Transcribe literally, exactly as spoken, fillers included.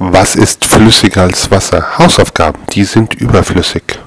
Was ist flüssiger als Wasser? Hausaufgaben, die sind überflüssig.